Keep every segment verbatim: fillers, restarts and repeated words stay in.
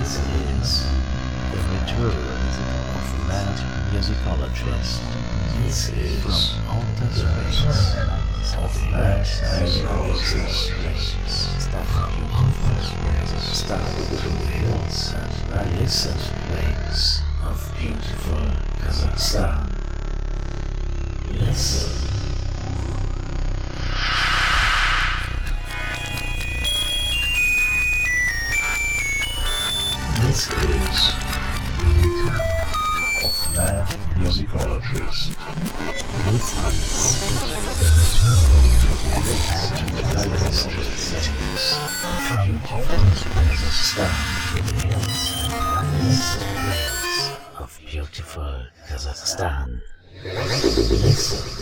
This is the return of mad musicologists. This is from outer space of mad musicologists. Stuff beautiful, stuff through the hills and illicit lakes of beautiful Kazakhstan. Listen. This is of mad musicologists. This is of beautiful Kazakhstan. Listen.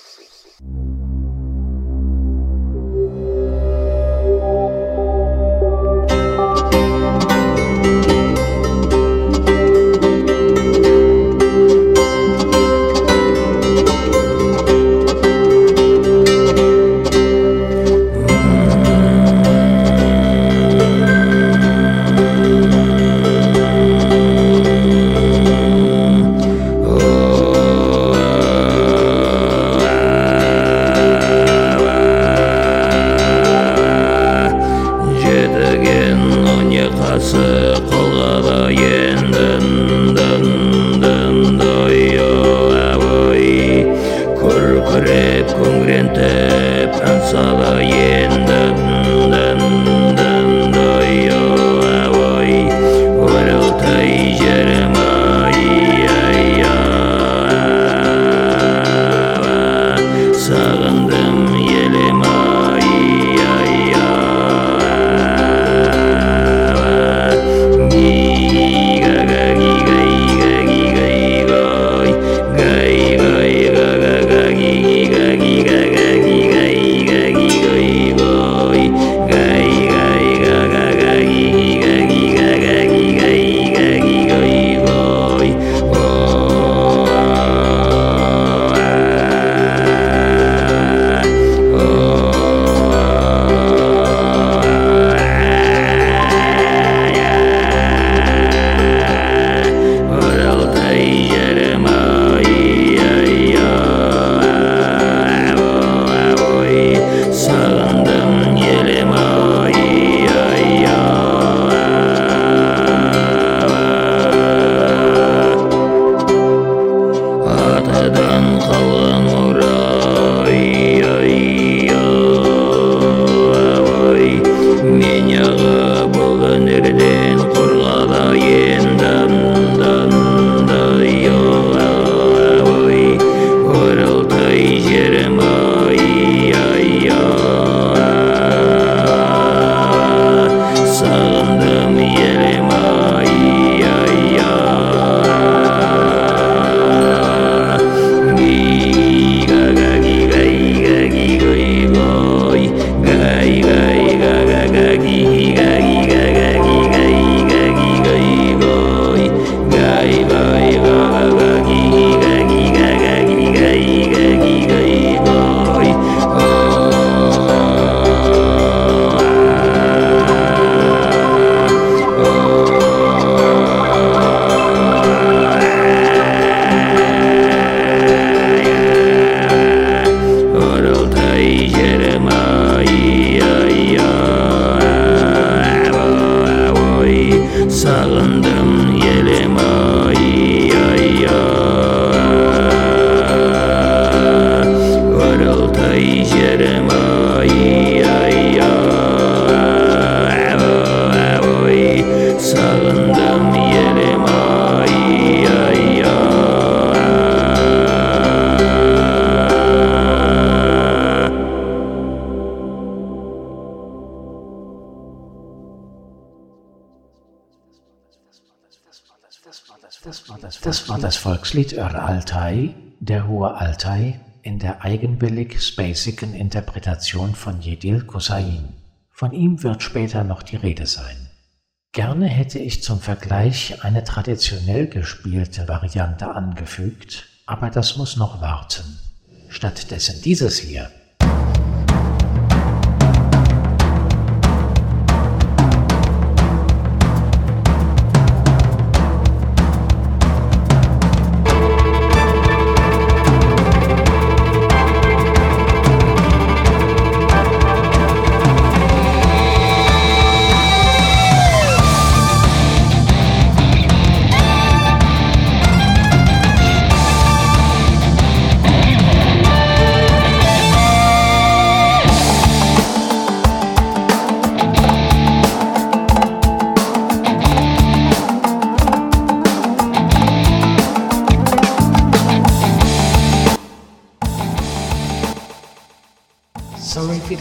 Das war das Volkslied Ör Altai, der Hohe Altai, in der eigenwillig-spacigen Interpretation von Jedil Kosain. Von ihm wird später noch die Rede sein. Gerne hätte ich zum Vergleich eine traditionell gespielte Variante angefügt, aber das muss noch warten. Stattdessen dieses hier.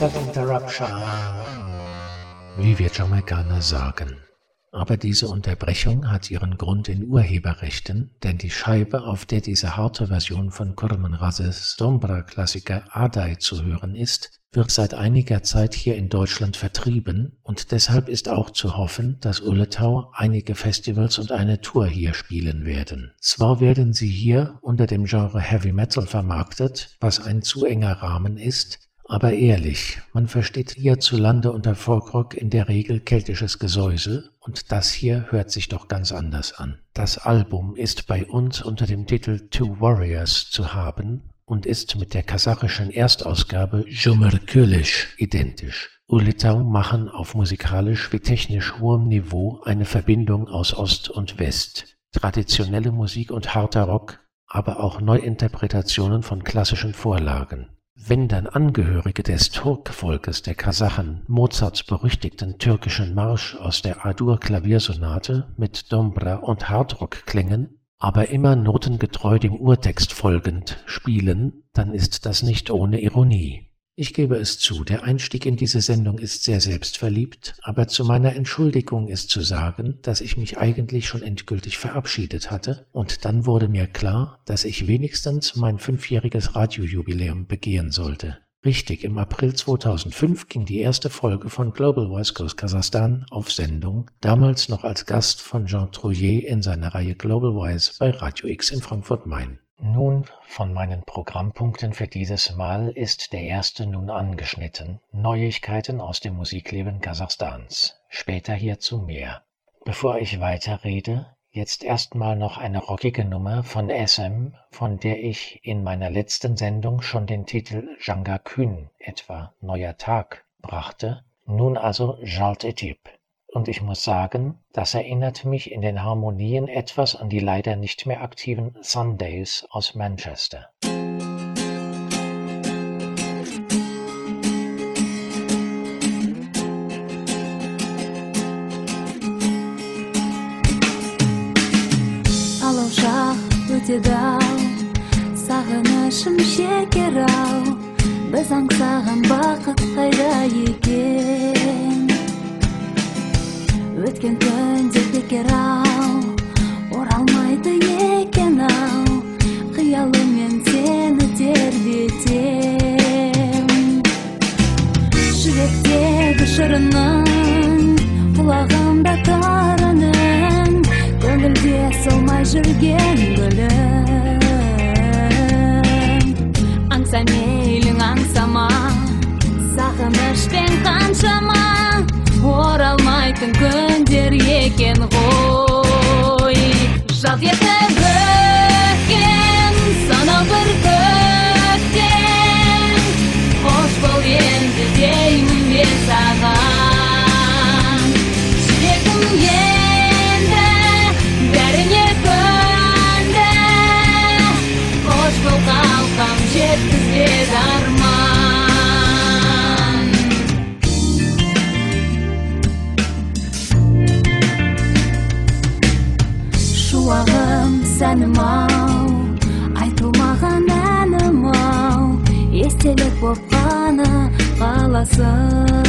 Mental Interruption. Wie wir Jamaikaner sagen. Aber diese Unterbrechung hat ihren Grund in Urheberrechten, denn die Scheibe, auf der diese harte Version von Kurman Razes Dombra-Klassiker Adai zu hören ist, wird seit einiger Zeit hier in Deutschland vertrieben und deshalb ist auch zu hoffen, dass Uletau einige Festivals und eine Tour hier spielen werden. Zwar werden sie hier unter dem Genre Heavy Metal vermarktet, was ein zu enger Rahmen ist, aber ehrlich, man versteht hierzulande unter Folkrock in der Regel keltisches Gesäusel und das hier hört sich doch ganz anders an. Das Album ist bei uns unter dem Titel Two Warriors zu haben und ist mit der kasachischen Erstausgabe Jumurkölisch identisch. Uletau machen auf musikalisch wie technisch hohem Niveau eine Verbindung aus Ost und West. Traditionelle Musik und harter Rock, aber auch Neuinterpretationen von klassischen Vorlagen. Wenn dann Angehörige des Turkvolkes der Kasachen Mozarts berüchtigten türkischen Marsch aus der A-Dur-Klaviersonate mit Dombra und Hardrock klingen, aber immer notengetreu dem Urtext folgend spielen, dann ist das nicht ohne Ironie. Ich gebe es zu, der Einstieg in diese Sendung ist sehr selbstverliebt, aber zu meiner Entschuldigung ist zu sagen, dass ich mich eigentlich schon endgültig verabschiedet hatte und dann wurde mir klar, dass ich wenigstens mein fünfjähriges Radiojubiläum begehen sollte. Richtig, im April zweitausendfünf ging die erste Folge von Global Voice Coast Kasachstan auf Sendung, damals noch als Gast von Jean Trouillet in seiner Reihe Global Voice bei Radio X in Frankfurt-Main. Nun, von meinen Programmpunkten für dieses Mal ist der erste nun angeschnitten, Neuigkeiten aus dem Musikleben Kasachstans. Später hierzu mehr. Bevor ich weiterrede, jetzt erstmal noch eine rockige Nummer von S M, von der ich in meiner letzten Sendung schon den Titel Janga Kün, etwa Neuer Tag, brachte, nun also Jalt Etip. Und ich muss sagen, das erinnert mich in den Harmonien etwas an die leider nicht mehr aktiven Sundays aus Manchester. Алаушақ өтеді-ау, сағынышым шекер-ау, біз аңсаған бақыт қайда екен? Өткен күндер бекер-ау, оралмайды екен-ау, қиялыммен сені тербетем. Жүректегі шырының, құлағымда тарының, көңілде солмай жүрген гүлім. Аңса мейлің аңсама, сағынышпен қаншама, оралмайтын күндер екен ғой. Жалт етіп өткен санау бір көктем, қош бол енді деймін мен саған. Жүрегім енді бәріне көнді, қош бол қалқам жеткізбеді арман. Шуағым сәнім-ау, айтылмаған әнім-ау, естелік боп қана қаласың.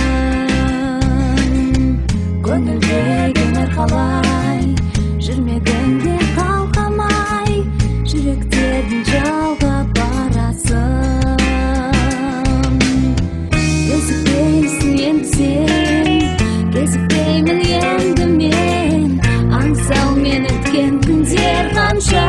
Көңілдегі қалай, жүрмегіңде қалқамай, жүректердің жалғап барасың. Кезікпейсің енді сен, кезікпеймін енді мен, аңсау мен өткен күндер қанша.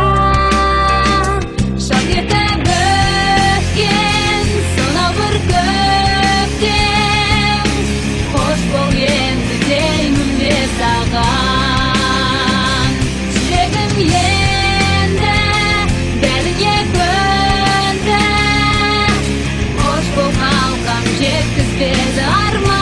Жалт етіп өткен сонау бір көктем, қош бол енді деймін мен саған. Жүрегім енді бәріне көнді, қош бол қалқам жеткізбеді арман.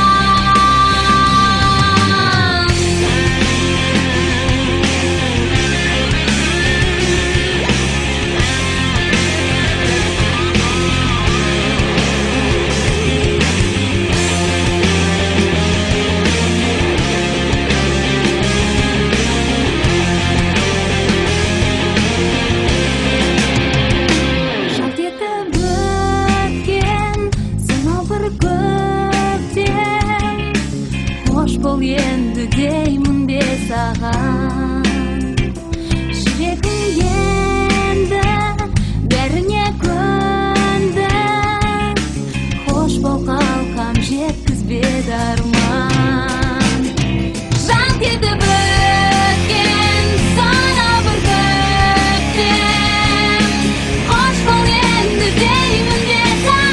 деймін бе саған. Жүрегім енді бәріне көнді, хош бол қалқам жеткізбеді арман. Жалт етіп өткен сана бір көктем, хош бол енді деймін бе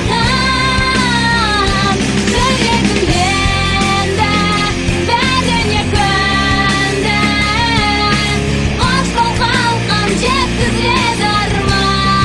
саған. Жүрегім енді бәріне көнді, хош бол қалқам жеткізбеді арман.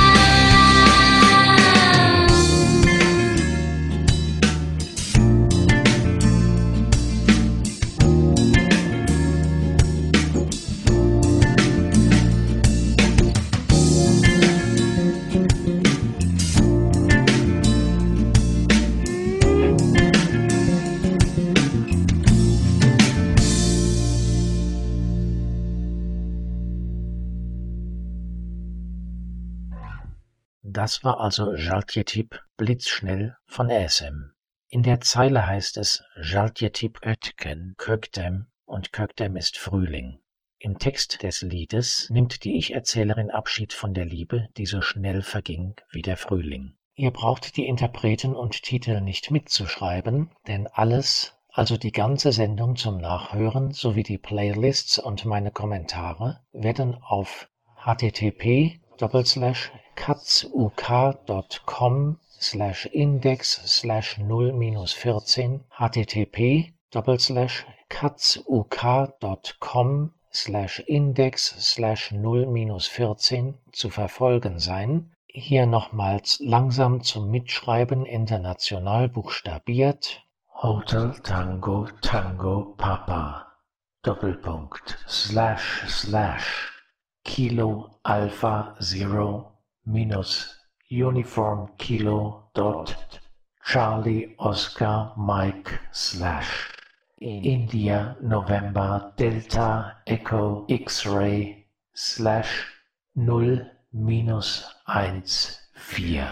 Das war also Jaltjetip blitzschnell von A S M. In der Zeile heißt es Jaltjetip ötken köktem und köktem ist Frühling. Im Text des Liedes nimmt die Ich-Erzählerin Abschied von der Liebe, die so schnell verging wie der Frühling. Ihr braucht die Interpreten und Titel nicht mitzuschreiben, denn alles, also die ganze Sendung zum Nachhören sowie die Playlists und meine Kommentare, werden auf http Doppelslash katzuk.com slash index slash null minus vierzehn http Doppelslash katzuk.com slash index slash null minus vierzehn zu verfolgen sein. Hier nochmals langsam zum Mitschreiben international buchstabiert. Hotel Tango Tango Papa Doppelpunkt slash slash Kilo Alpha Zero minus Uniform Kilo dot Charlie Oscar Mike slash India November Delta Echo X-Ray slash null minus eins vier.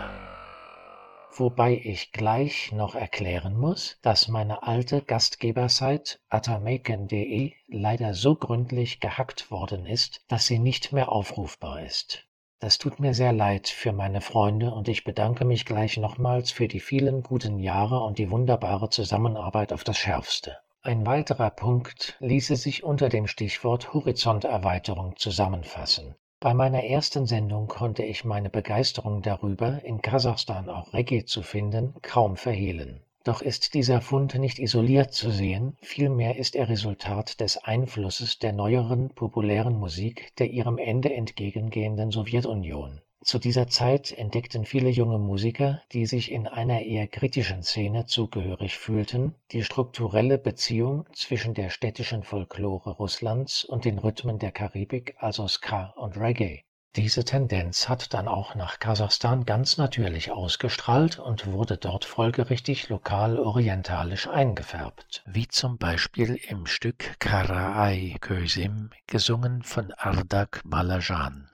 Wobei ich gleich noch erklären muss, dass meine alte Gastgebersite atamaken punkt de leider so gründlich gehackt worden ist, dass sie nicht mehr aufrufbar ist. Das tut mir sehr leid für meine Freunde und ich bedanke mich gleich nochmals für die vielen guten Jahre und die wunderbare Zusammenarbeit auf das Schärfste. Ein weiterer Punkt ließe sich unter dem Stichwort Horizonterweiterung zusammenfassen. Bei meiner ersten Sendung konnte ich meine Begeisterung darüber, in Kasachstan auch Reggae zu finden, kaum verhehlen. Doch ist dieser Fund nicht isoliert zu sehen, vielmehr ist er Resultat des Einflusses der neueren, populären Musik der ihrem Ende entgegengehenden Sowjetunion. Zu dieser Zeit entdeckten viele junge Musiker, die sich in einer eher kritischen Szene zugehörig fühlten, die strukturelle Beziehung zwischen der städtischen Folklore Russlands und den Rhythmen der Karibik, also Ska und Reggae. Diese Tendenz hat dann auch nach Kasachstan ganz natürlich ausgestrahlt und wurde dort folgerichtig lokal-orientalisch eingefärbt, wie zum Beispiel im Stück Karaay Közüm, gesungen von Ardak Balajan.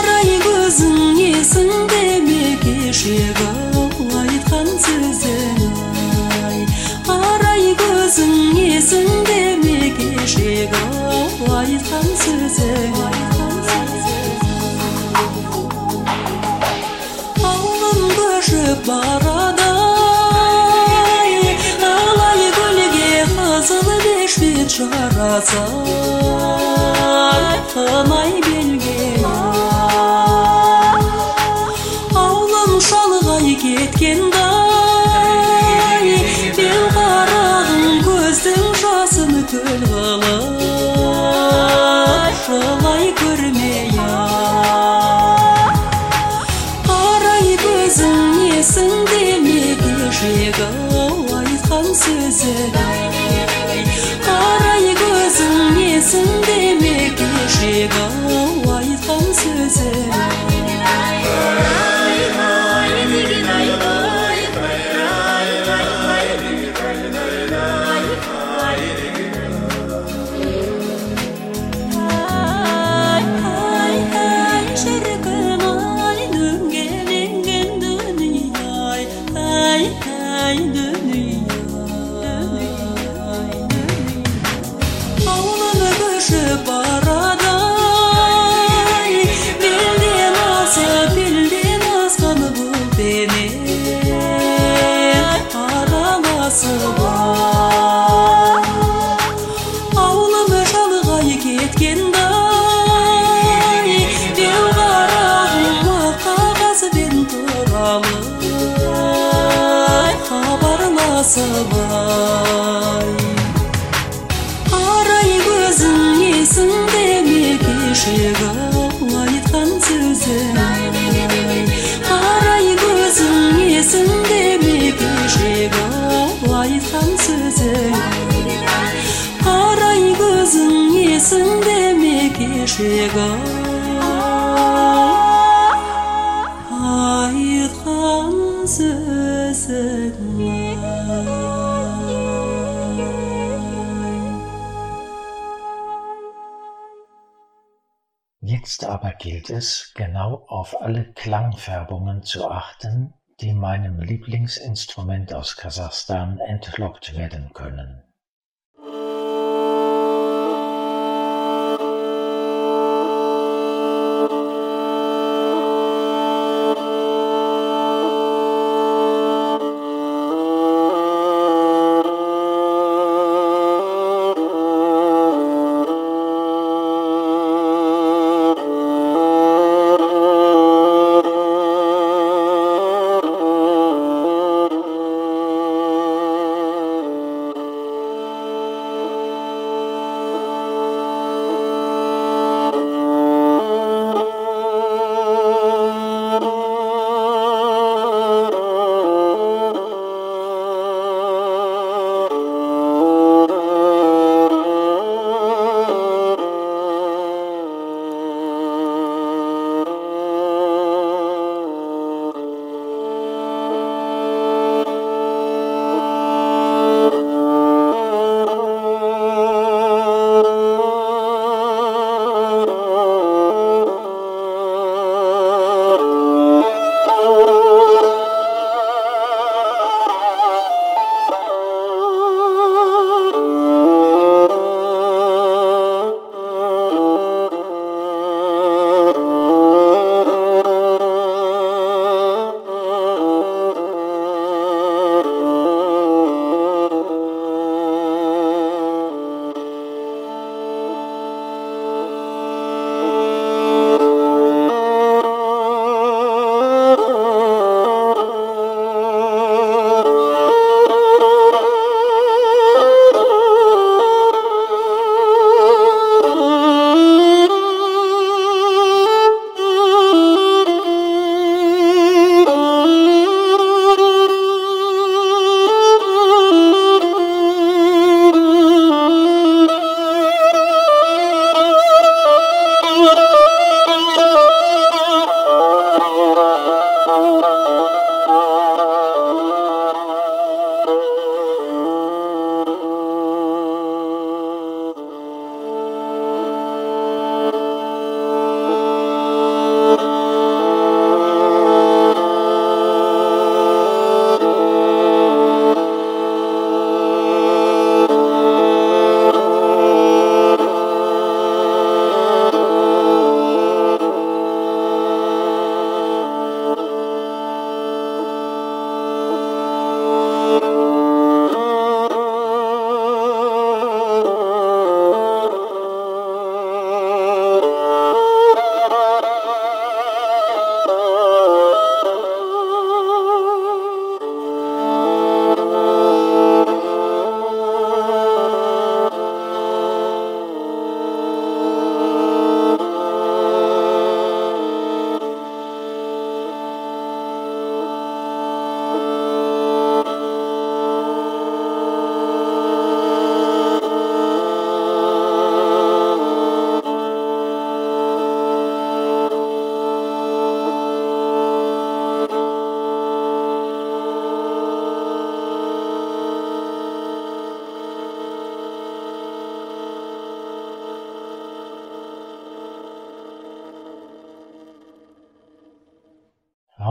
Arай gözün есіңде ме кешегі айтқан сөзің барадай, алай гүлге қызыл бешбет жараса, қынай белге аулым шалғай кеткендай, бел қарағым көздің жасын көл қылып жылай көрмей-ақ. Қарай көзің несің демеге жегі айтқан сөзі, қарай көзің несің демеге жегі айтқан сөзі. Аулым шалғай кеткендай, бел қарағым қағазбен туралы хабарласып ай. Қарай көзің несің демеге жегі айтқан сөзі, қарай көзің несің демеге жегі айтқан сөзі, қарай көзің несің демеге жегі айтқан сөзің. Jetzt aber gilt es, genau auf alle Klangfärbungen zu achten, die meinem Lieblingsinstrument aus Kasachstan entlockt werden können.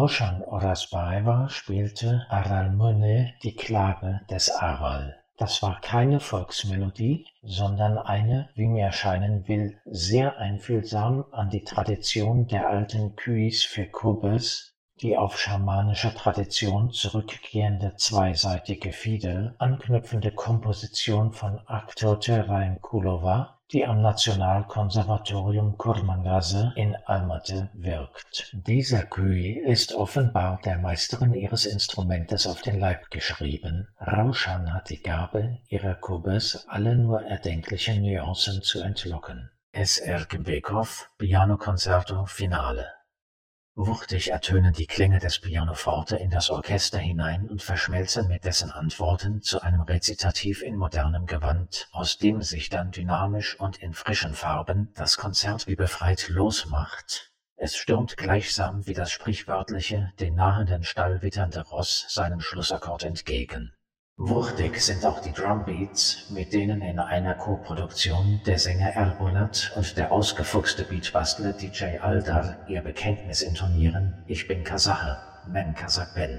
Raushan Orasbaeva spielte Aralmone, die Klage des Aral. Das war keine Volksmelodie, sondern eine, wie mir erscheinen will, sehr einfühlsam an die Tradition der alten Kuis für Kubes, die auf schamanische Tradition zurückgehende zweiseitige Fiedel, anknüpfende Komposition von Aktote Raimkulova, die am Nationalkonservatorium Kurmangaze in Almaty wirkt. Dieser Kui ist offenbar der Meisterin ihres Instrumentes auf den Leib geschrieben. Raushan hat die Gabe, ihrer Kubes alle nur erdenklichen Nuancen zu entlocken. S R Gebekov, Pianokonzerto Finale. Wuchtig ertönen die Klänge des Pianoforte in das Orchester hinein und verschmelzen mit dessen Antworten zu einem Rezitativ in modernem Gewand, aus dem sich dann dynamisch und in frischen Farben das Konzert wie befreit losmacht. Es stürmt gleichsam wie das sprichwörtliche, den nahenden Stall witternde Ross seinem Schlussakkord entgegen. Wuchtig sind auch die Drumbeats, mit denen in einer Co-Produktion der Sänger Erbulat und der ausgefuchste Beatbastler D J Aldar ihr Bekenntnis intonieren: Ich bin Kasache, men Kasach ben.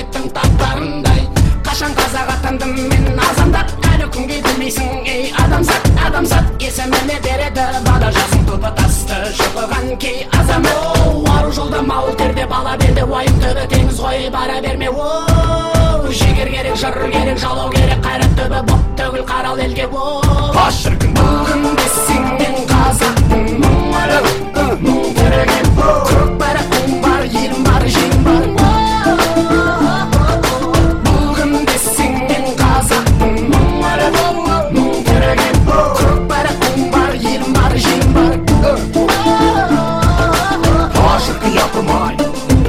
жігіттің таптарындай. Қашан қазақ атандым мен азамат, әлі күнге білмейсің ей адамзат. Адамзат есіміне береді бала жасың тұлпы тасты шұқыған кей азамат. Ару жолда мал терде бала белде, уайым түбі теңіз ғой бара берме. Жігер керек, жыр керек, жалау керек, қайрат түбі бұп төгіл қарал елге. Аш шіркін бүгінде сенен қазақпын, мұңары мұң тіреген. Көк байрақтың бар, елім бар, жеңім бар. Бүгінде сенен қазақпын, мұңары мұң тіреген. Көк байрақтың бар, елім бар, жеңім бар. Аш шіркін япырмай.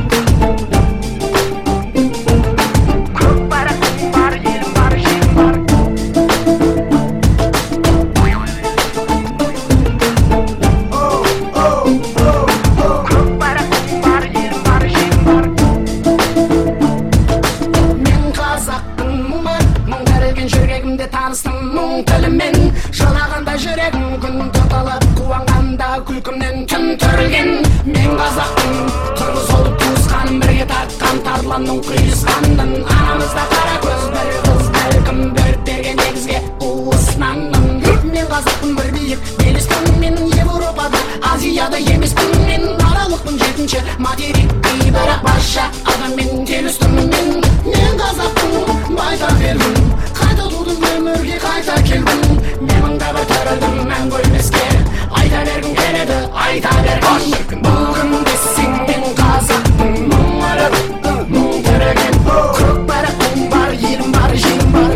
Мұң тілімен жылағанда жүрегім, күн тұтылып қуанғанда күлкімнен түн түрілген. Мен қазақтың қырғыз болып туысқаным, бірге тартқан тарланның құйысқанын. Анамызда қара көз бір қыз, бәлкім бөліп берген негізге уысынанмын. Мен қазақтың бір биік белестің, мен Европада, Азияда емеспін. Мен аралықпын жетінші материкті, бірақ басша адаммен келістім. Мен мен қазақтың байтақ елмін, қайта тудым өмірге қайта келдім. Менің да бір түрілдім мәңгі өлмеске, айта бергім келеді, айта бергім. Бүгінде сенен қазақпын, мұңары мұң тіреген. Көк байрақтың бар, елім бар, жеңім бар.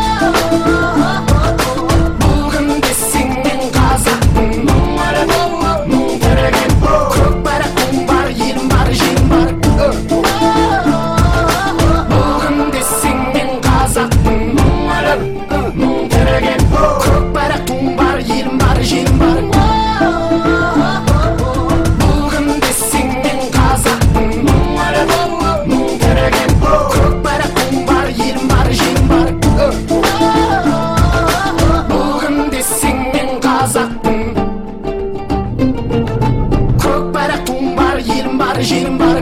Бүгінде сенен қазақпын, мұңары мұң тіреген. Көк байрақтың бар, елім бар, жеңім бар. Бүгінде сенен қазақпын, мұңары мұң тіреген. Көк байрақтың бар, елім бар, жеңім бар. Бүгінде сенен қазақпын, мұңары мұң тіреген. Көк байрақтың бар, елім бар, жеңім бар. Бүгінде сенен қазақпын, көк байрақтың бар, елім бар, жеңім бар.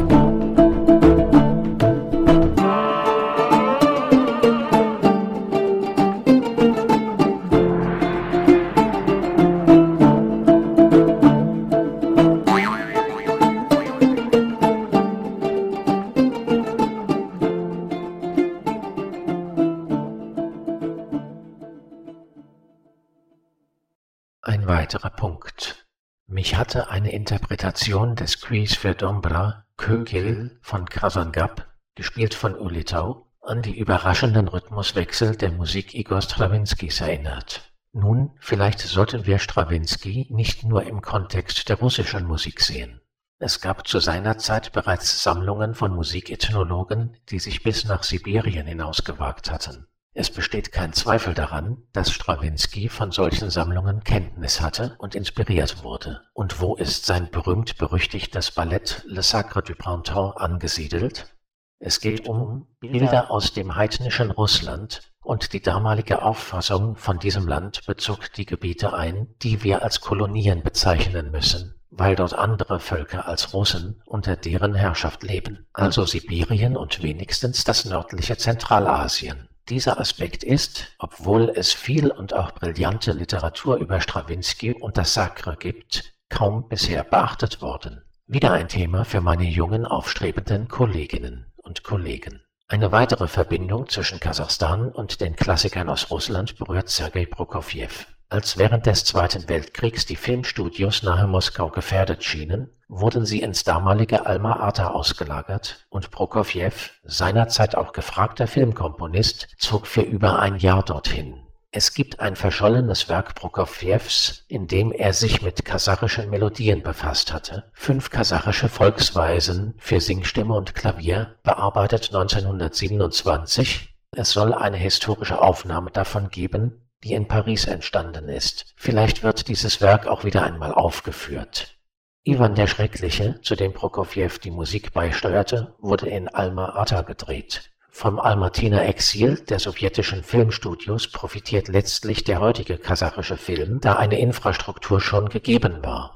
Ein weiterer Punkt. Mich hatte eine Interpretation des Quis für Dombra, Kögel von Krasangap, gespielt von Ulitau, an die überraschenden Rhythmuswechsel der Musik Igor Strawinskys erinnert. Nun, vielleicht sollten wir Strawinski nicht nur im Kontext der russischen Musik sehen. Es gab zu seiner Zeit bereits Sammlungen von Musikethnologen, die sich bis nach Sibirien hinausgewagt hatten. Es besteht kein Zweifel daran, dass Strawinski von solchen Sammlungen Kenntnis hatte und inspiriert wurde. Und wo ist sein berühmt-berüchtigtes Ballett Le Sacre du Printemps angesiedelt? Es geht um Bilder aus dem heidnischen Russland, und die damalige Auffassung von diesem Land bezog die Gebiete ein, die wir als Kolonien bezeichnen müssen, weil dort andere Völker als Russen unter deren Herrschaft leben, also Sibirien und wenigstens das nördliche Zentralasien. Dieser Aspekt ist, obwohl es viel und auch brillante Literatur über Strawinski und das Sacre gibt, kaum bisher beachtet worden. Wieder ein Thema für meine jungen, aufstrebenden Kolleginnen und Kollegen. Eine weitere Verbindung zwischen Kasachstan und den Klassikern aus Russland berührt Sergei Prokofjew. Als während des Zweiten Weltkriegs die Filmstudios nahe Moskau gefährdet schienen, wurden sie ins damalige Alma-Ata ausgelagert und Prokofjew, seinerzeit auch gefragter Filmkomponist, zog für über ein Jahr dorthin. Es gibt ein verschollenes Werk Prokofjews, in dem er sich mit kasachischen Melodien befasst hatte. Fünf kasachische Volksweisen für Singstimme und Klavier, bearbeitet neunzehnhundertsiebenundzwanzig. Es soll eine historische Aufnahme davon geben, die in Paris entstanden ist. Vielleicht wird dieses Werk auch wieder einmal aufgeführt. Iwan der Schreckliche, zu dem Prokofjew die Musik beisteuerte, wurde in Alma-Ata gedreht. Vom Almatiner Exil der sowjetischen Filmstudios profitiert letztlich der heutige kasachische Film, da eine Infrastruktur schon gegeben war.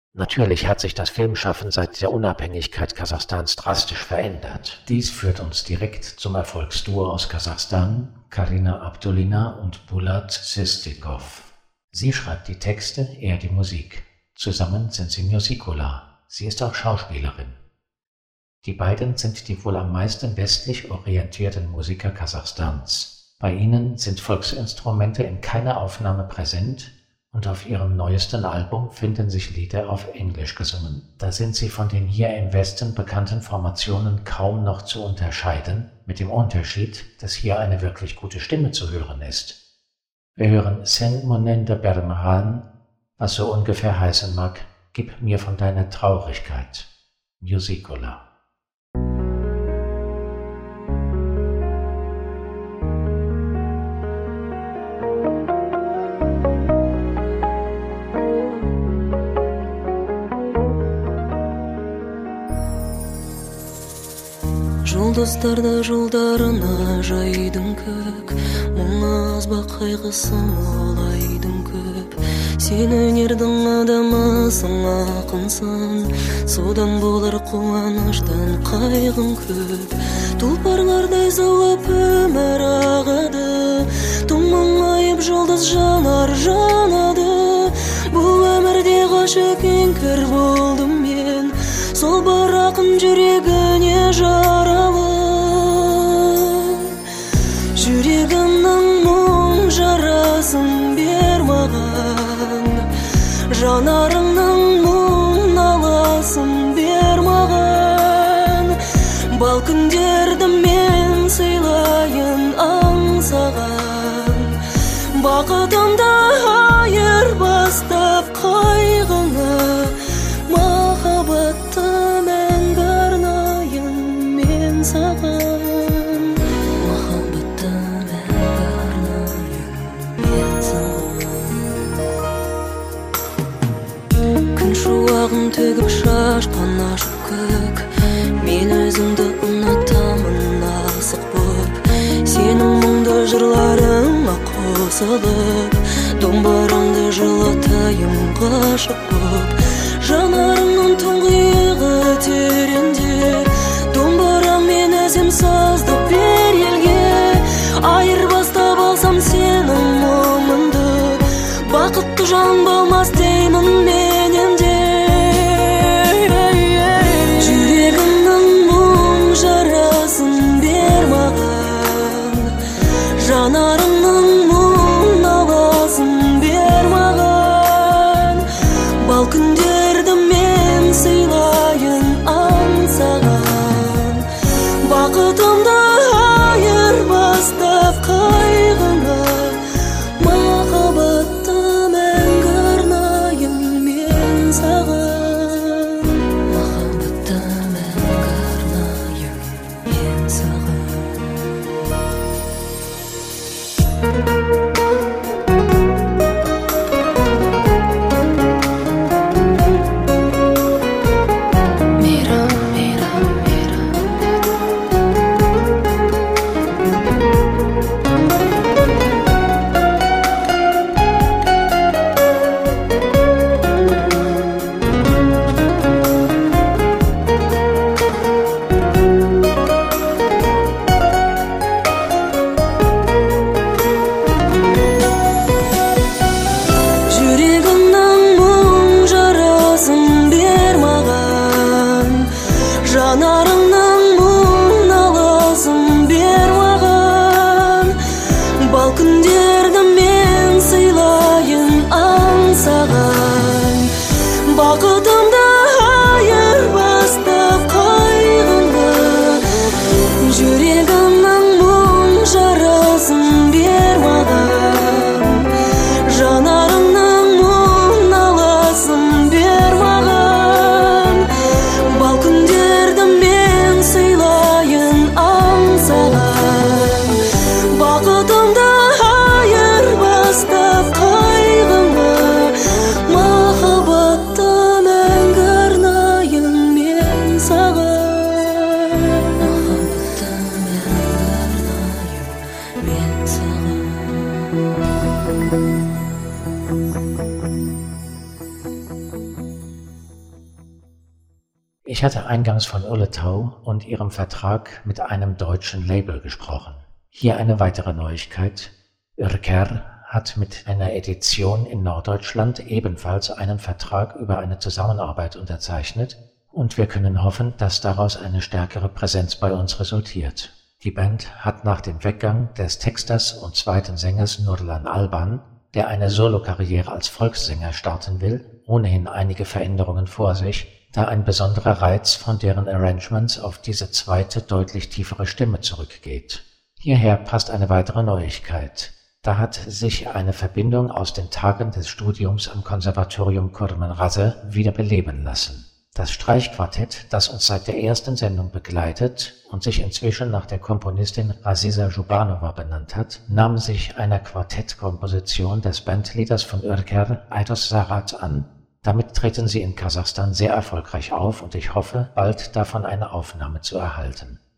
Natürlich hat sich das Filmschaffen seit der Unabhängigkeit Kasachstans drastisch verändert. Dies führt uns direkt zum Erfolgsduo aus Kasachstan, Karina Abdulina und Bulat Sistikov. Sie schreibt die Texte, er die Musik. Zusammen sind sie Musicula. Sie ist auch Schauspielerin. Die beiden sind die wohl am meisten westlich orientierten Musiker Kasachstans. Bei ihnen sind Volksinstrumente in keiner Aufnahme präsent und auf ihrem neuesten Album finden sich Lieder auf Englisch gesungen. Da sind sie von den hier im Westen bekannten Formationen kaum noch zu unterscheiden, mit dem Unterschied, dass hier eine wirklich gute Stimme zu hören ist. Wir hören Sen Monende Bermahan, was so ungefähr heißen mag, gib mir von deiner Traurigkeit. Musicula. Жұлдыздарда жолдарына жайдың көк, мұң аз ба қайғысы молайдың көп. Сен өнердің адамысың, ақынсың, содан болар қуаныштан қайғың көп. Тұлпарлардай заулап өмір ағады, тұманғайып жұлдыз жанар жанады. Бұл өмірде ғашық еңкір болдым мен, сол бір ақын жүрегіне жаралы. Жүрегімнің мұң жарасын бер маған, жанарыңның мұң наласын бер маған. Бал күндерді мен сыйлайын аңсаған, бақытымды айырбастап қайғыңа. Махаббатты мәңгі арнайын мен саған, махаббатты мәңгі арнайын мен саған. Күн шуағын төгіп шашқан ашық көк, мен өзіңді ұнатамын асық боп. Сенің мұңды жырларыңа қосылып, домбыраңды жылатайын ғашық боп. Жанарымның тұңғиығы тереңде, домбырам мен өзім сазды бер елге. Айырбастап алсам сенің мұңыңды, бақытты жан болмас деймін мен енді. Жүрегімнің мұң жарасын бер маған, жанарымның мұң наласын бер маған. Бал күнде сыйлайын аңсаған, бақытымды айырбастап қайғыңа. Махаббатты мәңгі арнайын мен саған, махаббатты мәңгі арнайын мен саған. Ich hatte eingangs von Ulletau und ihrem Vertrag mit einem deutschen Label gesprochen. Hier eine weitere Neuigkeit. Ürker hat mit einer Edition in Norddeutschland ebenfalls einen Vertrag über eine Zusammenarbeit unterzeichnet und wir können hoffen, dass daraus eine stärkere Präsenz bei uns resultiert. Die Band hat nach dem Weggang des Texters und zweiten Sängers Nurlan Alban, der eine Solokarriere als Volkssänger starten will, ohnehin einige Veränderungen vor sich, da ein besonderer Reiz von deren Arrangements auf diese zweite, deutlich tiefere Stimme zurückgeht. Hierher passt eine weitere Neuigkeit. Da hat sich eine Verbindung aus den Tagen des Studiums am Konservatorium Kurmanraseh wieder beleben lassen. Das Streichquartett, das uns seit der ersten Sendung begleitet und sich inzwischen nach der Komponistin Aziza Jubanova benannt hat, nahm sich einer Quartettkomposition des Bandleaders von Ürker, Aydos Sarat, an. Damit treten sie in Kasachstan sehr erfolgreich auf und ich hoffe, bald davon eine Aufnahme zu erhalten.